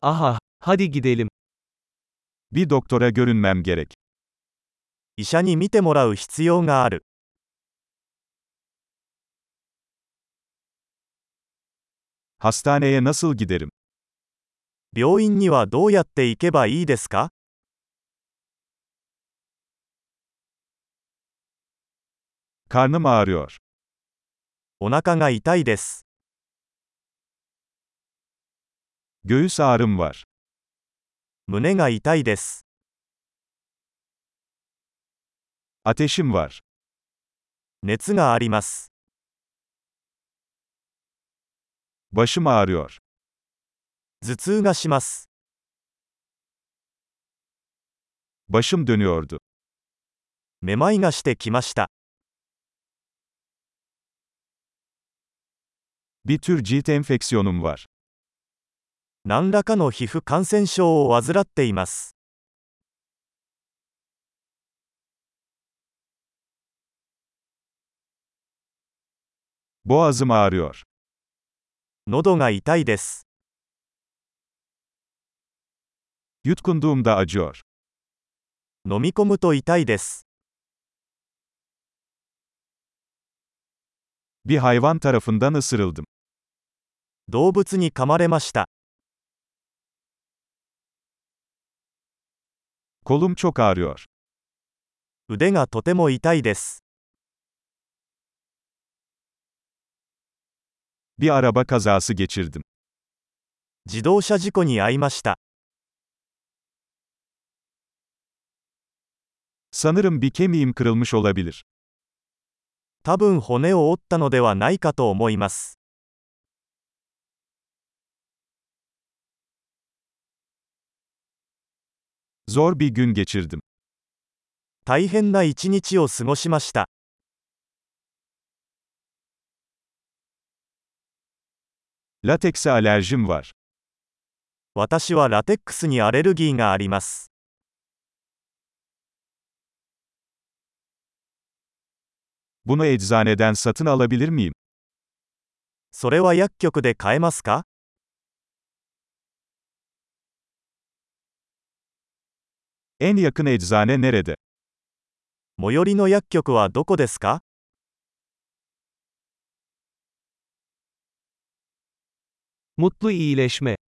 Aha, hadi gidelim. Bir doktora görünmem gerek. 医者に診てもらう必要がある。 Hastaneye nasıl giderim? 病院にはどうやって行けばいいですか？ Karnım ağrıyor. お腹が痛いです。 Göğüs ağrım var. 胸が痛いです。 Ateşim var. 熱があります。 Başım ağrıyor. 頭痛がします。 Başım dönüyordu. めまいがしてきました。 Bir tür cilt enfeksiyonum var. 何らかの皮膚感染症を患っています。 Boğazım ağrıyor. 喉が痛いです。 Yutkunduğumda acıyor. 飲み込むと痛いです。 Bir hayvan tarafından ısırıldım. 動物に噛まれました。 Kolum çok ağrıyor. 腕がとても痛いです。 Bir araba kazası geçirdim. 自動車事故に遭いました。 Sanırım bir kemiğim kırılmış olabilir. 多分骨を折ったのではないかと思います。 Zor bir gün geçirdim. 大変な一日を過ごしました。 Latekse alerjim var. 私はラテックスにアレルギーがあります。 Bunu eczaneden satın alabilir miyim? それは薬局で買えますか？ En yakın eczane nerede? 最寄りの薬局はどこですか？ Mutlu iyileşme.